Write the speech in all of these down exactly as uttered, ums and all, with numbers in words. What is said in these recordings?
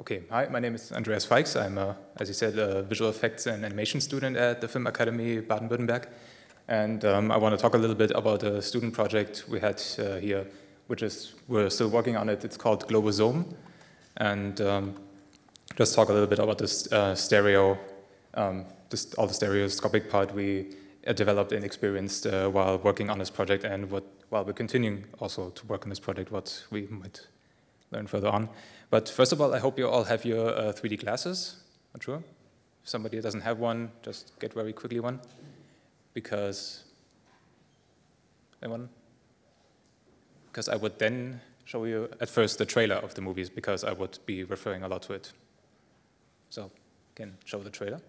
Okay, hi, my name is Andreas Feix. I'm, uh, as you said, a visual effects and animation student at the Film Academy Baden-Württemberg. And um, I want to talk a little bit about a student project we had uh, here, which is, we're still working on it. It's called Globosome. And um, just talk a little bit about this uh, stereo, um, this, all the stereoscopic part we uh, developed and experienced uh, while working on this project, and what, while we're continuing also to work on this project, what we might learn further on. But first of all, I hope you all have your uh, three D glasses. Not sure. If somebody doesn't have one, just get very quickly one. Because, anyone? Because I would then show you at first the trailer of the movies, because I would be referring a lot to it. So, can show the trailer.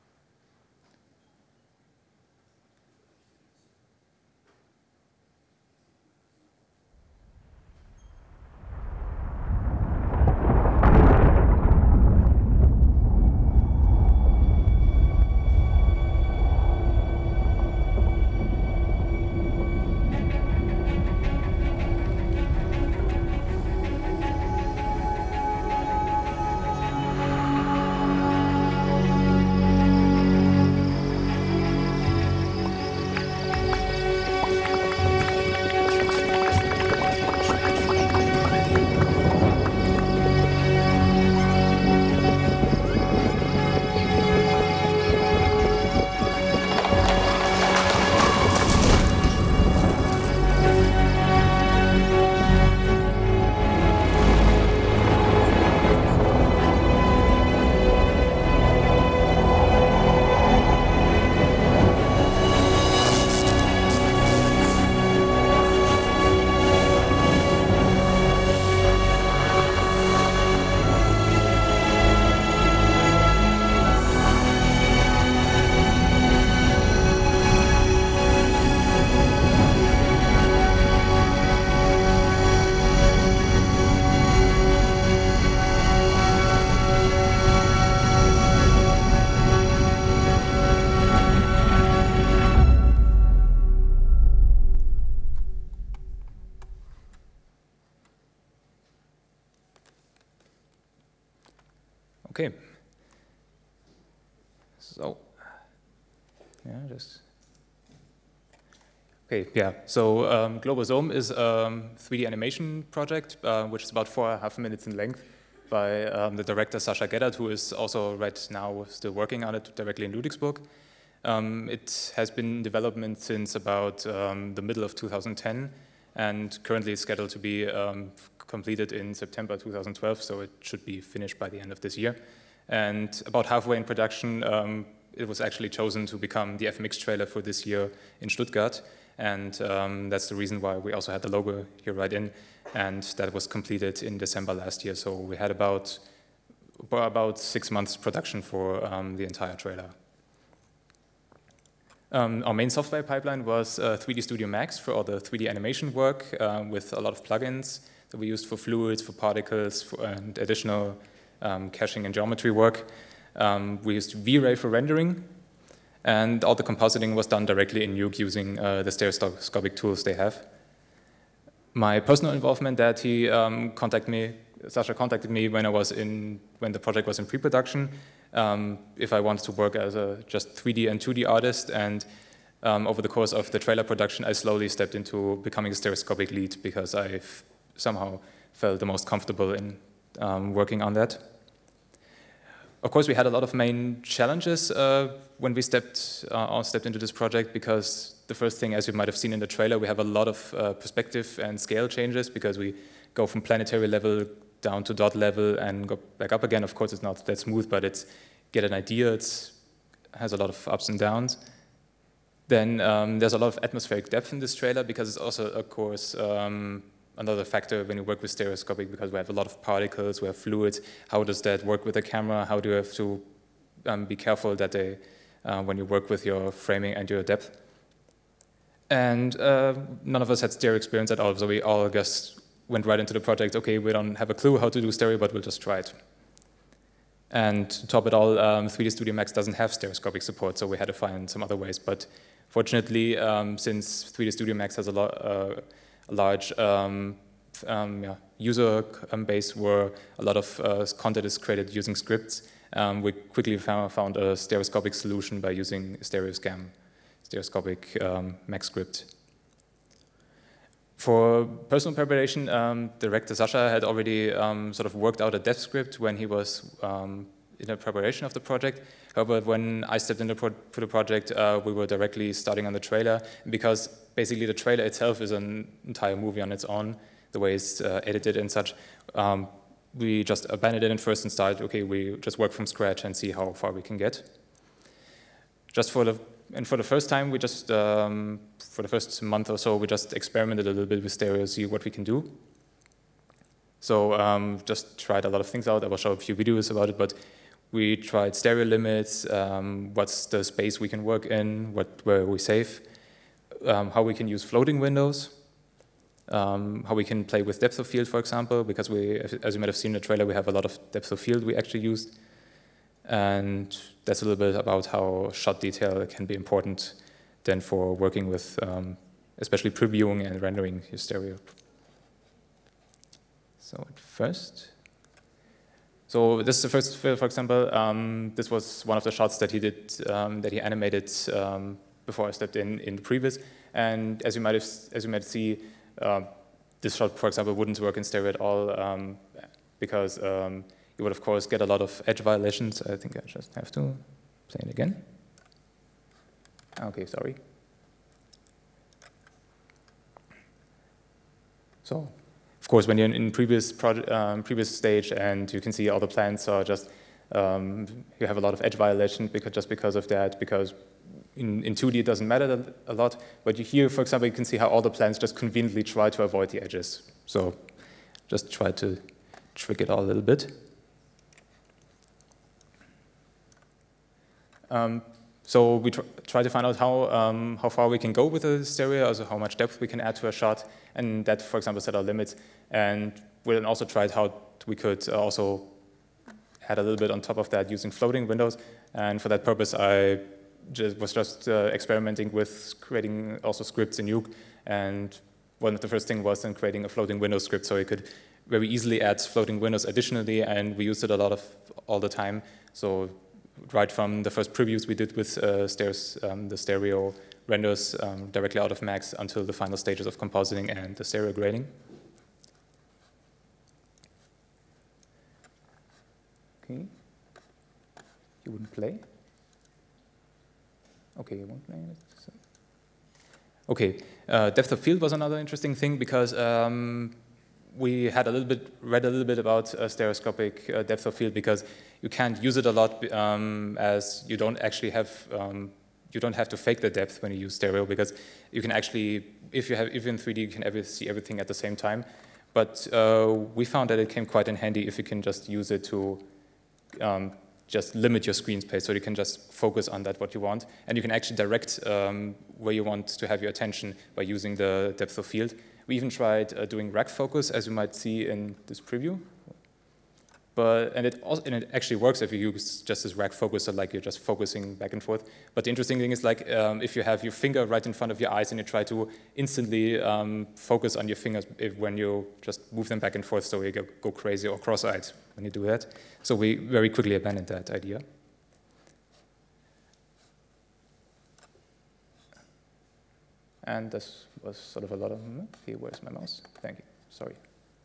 Okay. So, yeah, just. Okay, yeah. So um, Globosome is a um, three D animation project, uh, which is about four and a half minutes in length, by um, the director Sascha Gedert, who is also right now still working on it directly in Ludwigsburg. Um, it has been in development since about um, the middle of two thousand ten, and currently is scheduled to be um, completed in September two thousand twelve, so it should be finished by the end of this year. And about halfway in production, um, it was actually chosen to become the F M X trailer for this year in Stuttgart, and um, that's the reason why we also had the logo here right in, and that was completed in December last year, so we had about, about six months production for um, the entire trailer. Um, our main software pipeline was uh, three D Studio Max for all the three D animation work, uh, with a lot of plugins that we used for fluids, for particles, for, and additional um, caching and geometry work. Um, we used V-Ray for rendering, and all the compositing was done directly in Nuke using uh, the stereoscopic tools they have. My personal involvement, that he um, contacted me, Sascha contacted me when I was in, when the project was in pre-production, um, if I wanted to work as a just three D and two D artist, and um, over the course of the trailer production, I slowly stepped into becoming a stereoscopic lead, because I somehow felt the most comfortable in um, working on that. Of course, we had a lot of main challenges uh, when we stepped, uh, stepped into this project, because the first thing, as you might have seen in the trailer, we have a lot of uh, perspective and scale changes, because we go from planetary level down to dot level and go back up again. Of course, it's not that smooth, but it's get an idea. It has a lot of ups and downs. Then um, there's a lot of atmospheric depth in this trailer, because it's also, of course, um, another factor when you work with stereoscopic, because we have a lot of particles, we have fluids. How does that work with the camera? How do you have to um, be careful that they, uh, when you work with your framing and your depth? And uh, none of us had stereo experience at all, so we all just went right into the project. Okay, we don't have a clue how to do stereo, but we'll just try it. And to top it all, um, three D Studio Max doesn't have stereoscopic support, so we had to find some other ways. But fortunately, um, since three D Studio Max has a, lo uh, a large um, um, yeah, user um, base where a lot of uh, content is created using scripts, um, we quickly found, found a stereoscopic solution by using stereoscam, stereoscopic um, Mac script. For personal preparation, um, director Sasha had already um, sort of worked out a dev script when he was um, in the preparation of the project. However, when I stepped into pro the project, uh, we were directly starting on the trailer, because basically the trailer itself is an entire movie on its own, the way it's uh, edited and such. Um, we just abandoned it first and started, okay, we just work from scratch and see how far we can get. Just for the And for the first time, we just, um, for the first month or so, we just experimented a little bit with stereo, see what we can do. So um, just tried a lot of things out. I will show a few videos about it, but we tried stereo limits, um, what's the space we can work in, what, where we save, um, how we can use floating windows, um, how we can play with depth of field, for example, because we, as you might have seen in the trailer, we have a lot of depth of field we actually used. And that's a little bit about how shot detail can be important then for working with, um, especially previewing and rendering your stereo. So at first, so this is the first, for example, um, this was one of the shots that he did, um, that he animated um, before I stepped in in the previous. And as you might have, as you might see, uh, this shot, for example, wouldn't work in stereo at all um, because. Um, You would, of course, get a lot of edge violations. I think I just have to play it again. Okay, sorry. So, of course, when you're in previous project, um, previous stage and you can see all the plants are just, um, you have a lot of edge violations because, just because of that, because in, in two D it doesn't matter a lot, but you here, for example, you can see how all the plants just conveniently try to avoid the edges. So, just try to trick it all a little bit. Um, so we tr try to find out how, um, how far we can go with the stereo, also how much depth we can add to a shot, and that, for example, set our limits. And we then also tried how we could also add a little bit on top of that using floating windows. And for that purpose, I just was just uh, experimenting with creating also scripts in Nuke. And one of the first things was then creating a floating window script, so you could very easily add floating windows additionally, and we used it a lot of all the time. So right from the first previews we did with uh, stereos, um, the stereo renders um, directly out of Max until the final stages of compositing and the stereo grading. Okay. You wouldn't play? Okay, you won't play it. So. Okay, uh, depth of field was another interesting thing because um, we had a little bit, read a little bit about uh, stereoscopic uh, depth of field because you can't use it a lot um, as you don't actually have, um, you don't have to fake the depth when you use stereo because you can actually, if you have, if in three D, you can ever see everything at the same time. But uh, we found that it came quite in handy if you can just use it to um, just limit your screen space so you can just focus on that what you want. And you can actually direct um, where you want to have your attention by using the depth of field. We even tried uh, doing rack focus, as you might see in this preview. But, and, it also, and it actually works if you use just this rack focus, so like you're just focusing back and forth. But the interesting thing is like um, if you have your finger right in front of your eyes and you try to instantly um, focus on your fingers if, when you just move them back and forth so you go, go crazy or cross-eyed when you do that. So we very quickly abandoned that idea. And this was sort of a lot of, okay, where's my mouse? Thank you, sorry.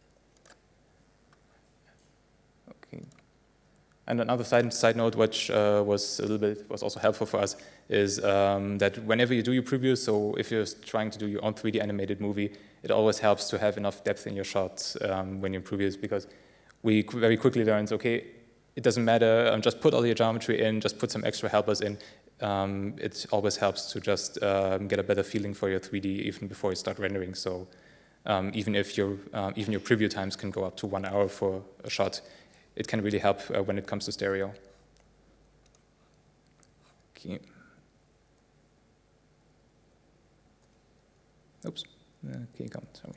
Okay. And another side, side note, which uh, was a little bit, was also helpful for us, is um, that whenever you do your previews, so if you're trying to do your own three D animated movie, it always helps to have enough depth in your shots um, when you previews, because we very quickly learned, okay, it doesn't matter, um, just put all your geometry in, just put some extra helpers in. Um, it always helps to just um, get a better feeling for your three D even before you start rendering. So um, even if your um, even your preview times can go up to one hour for a shot, it can really help uh, when it comes to stereo. Okay. Oops. Okay, come. Sorry.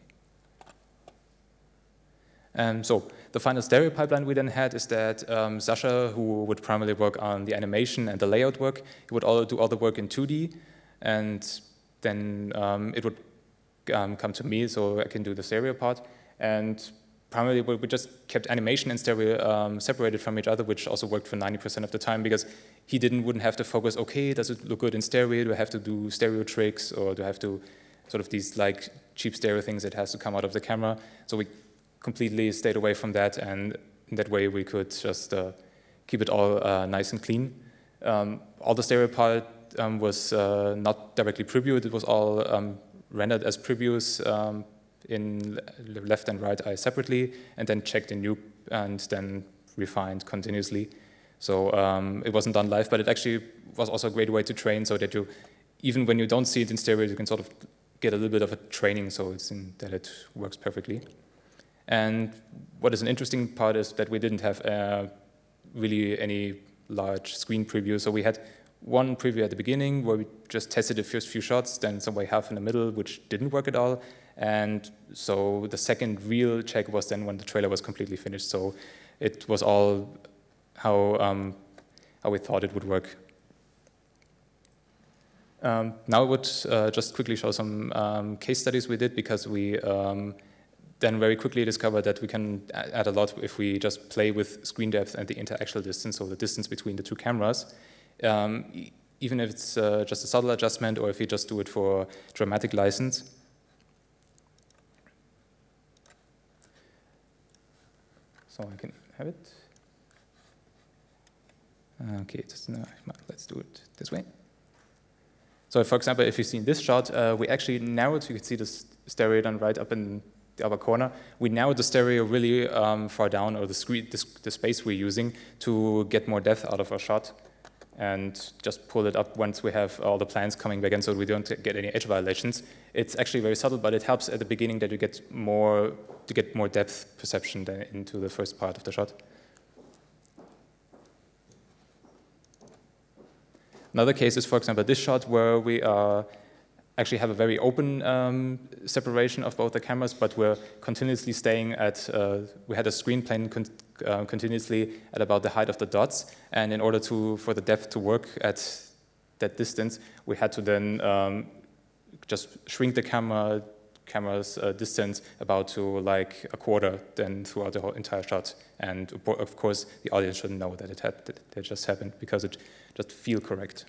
Um, so the final stereo pipeline we then had is that um, Sasha, who would primarily work on the animation and the layout work, he would all do all the work in two D, and then um, it would um, come to me so I can do the stereo part. And primarily, we just kept animation and stereo um, separated from each other, which also worked for ninety percent of the time, because he didn't wouldn't have to focus, okay, does it look good in stereo? Do I have to do stereo tricks, or do I have to sort of these like cheap stereo things that has to come out of the camera? So we completely stayed away from that, and in that way we could just uh, keep it all uh, nice and clean. Um, all the stereo part um, was uh, not directly previewed, it was all um, rendered as previews um, in left and right eye separately, and then checked in Nuke and then refined continuously. So um, it wasn't done live, but it actually was also a great way to train, so that you, even when you don't see it in stereo, you can sort of get a little bit of a training, so it's in, that it works perfectly. And what is an interesting part is that we didn't have uh, really any large screen preview. So we had one preview at the beginning where we just tested the first few shots, then some way half in the middle, which didn't work at all. And so the second real check was then when the trailer was completely finished. So it was all how, um, how we thought it would work. Um, now I would uh, just quickly show some um, case studies we did, because we um, then very quickly discovered that we can add a lot if we just play with screen depth and the interaxial distance, so the distance between the two cameras. Um, e even if it's uh, just a subtle adjustment, or if you just do it for dramatic license. So I can have it. Okay, just, no, let's do it this way. So for example, if you see in this shot, uh, we actually narrowed, you can see this stereo done right up in the upper corner. We narrowed the stereo really um, far down, or the, screen, the, the space we're using, to get more depth out of our shot, and just pull it up once we have all the plans coming back in, so we don't get any edge violations. It's actually very subtle, but it helps at the beginning that you get more, to get more depth perception than into the first part of the shot. Another case is, for example, this shot where we uh, actually have a very open um, separation of both the cameras, but we're continuously staying at, uh, we had a screen plane con uh, continuously at about the height of the dots, and in order to, for the depth to work at that distance, we had to then um, just shrink the camera camera's uh, distance about to like a quarter then throughout the whole entire shot. And of course, the audience shouldn't know that it had that it just happened, because it just feel correct.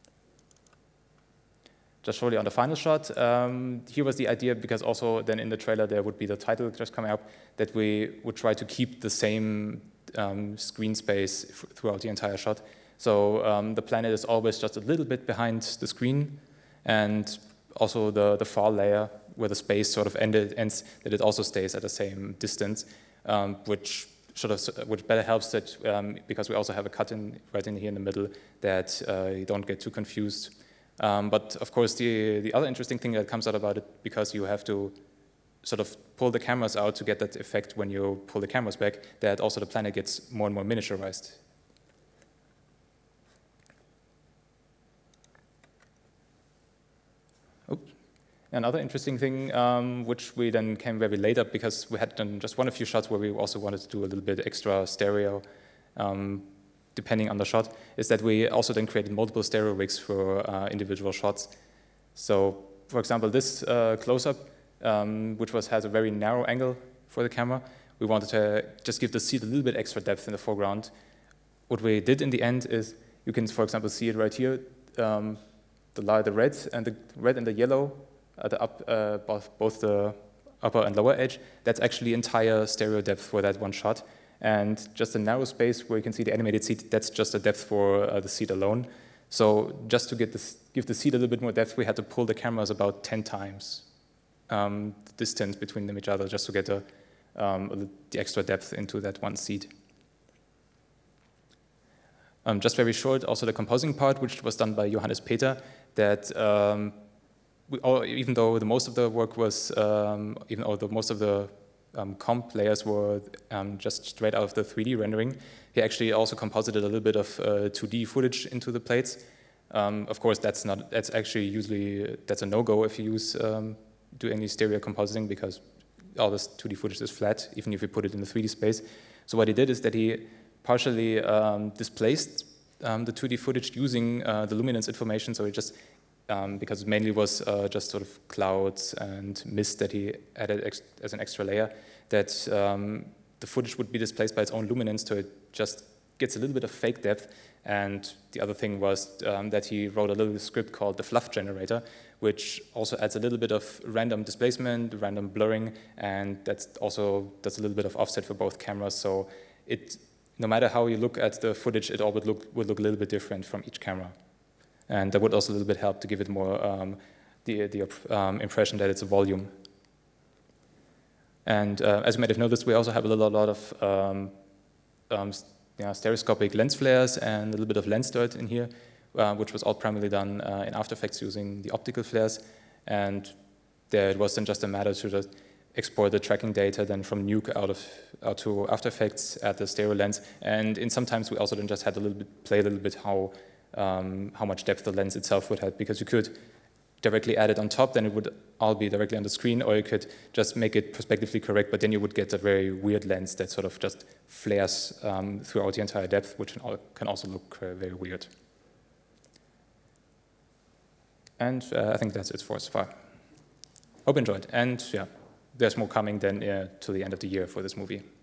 Just shortly on the final shot, um, here was the idea, because also then in the trailer there would be the title just coming up, that we would try to keep the same um, screen space throughout the entire shot. So um, the planet is always just a little bit behind the screen, and also the, the far layer where the space sort of ended, ends, that it also stays at the same distance, um, which sort of, which better helps that, um, because we also have a cut in right in here in the middle, that uh, you don't get too confused. Um, but of course, the, the other interesting thing that comes out about it, because you have to sort of pull the cameras out to get that effect when you pull the cameras back, that also the planet gets more and more miniaturized. Oops. Another interesting thing, um, which we then came very late up, because we had done just one a few shots where we also wanted to do a little bit extra stereo, um, depending on the shot, is that we also then created multiple stereo rigs for uh, individual shots. So, for example, this uh, close-up, um, which was has a very narrow angle for the camera, we wanted to just give the seat a little bit extra depth in the foreground. What we did in the end is, you can, for example, see it right here, um, the light, the red and the red and the yellow, at the up, uh, both, both the upper and lower edge. That's actually entire stereo depth for that one shot. And just a narrow space where you can see the animated seat, that's just a depth for uh, the seat alone. So just to get this, give the seat a little bit more depth, we had to pull the cameras about ten times um, the distance between them each other, just to get a, um, the extra depth into that one seat. Um, just very short, also the composing part, which was done by Johannes Peter, that um, we all, even though the most of the work was, um, even though most of the um, comp layers were um, just straight out of the three D rendering, he actually also composited a little bit of uh, two D footage into the plates. Um, of course, that's not, that's actually usually, that's a no-go if you use, um, do any stereo compositing, because all this two D footage is flat, even if you put it in the three D space. So what he did is that he partially um, displaced um, the two D footage using uh, the luminance information, so he just Um, because it mainly was uh, just sort of clouds and mist that he added ex as an extra layer. that um, the footage would be displaced by its own luminance, so it just gets a little bit of fake depth. And the other thing was um, that he wrote a little script called the fluff generator, which also adds a little bit of random displacement, random blurring, and that also does a little bit of offset for both cameras. So it, no matter how you look at the footage, it all would look, would look a little bit different from each camera. And that would also a little bit help to give it more um, the, the um, impression that it's a volume. And uh, as you might have noticed, we also have a little, a lot of um, um, you know, stereoscopic lens flares and a little bit of lens dirt in here, uh, which was all primarily done uh, in After Effects using the optical flares. And there it was then just a matter to just export the tracking data then from Nuke out of out to After Effects at the stereo lens. And in sometimes we also then just had a little bit play a little bit how um, how much depth the lens itself would have, because you could directly add it on top, then it would all be directly on the screen, or you could just make it perspectively correct, but then you would get a very weird lens that sort of just flares um, throughout the entire depth, which can also look uh, very weird. And uh, I think that's it for so far. Hope you enjoyed, and yeah, there's more coming then uh, to the end of the year for this movie.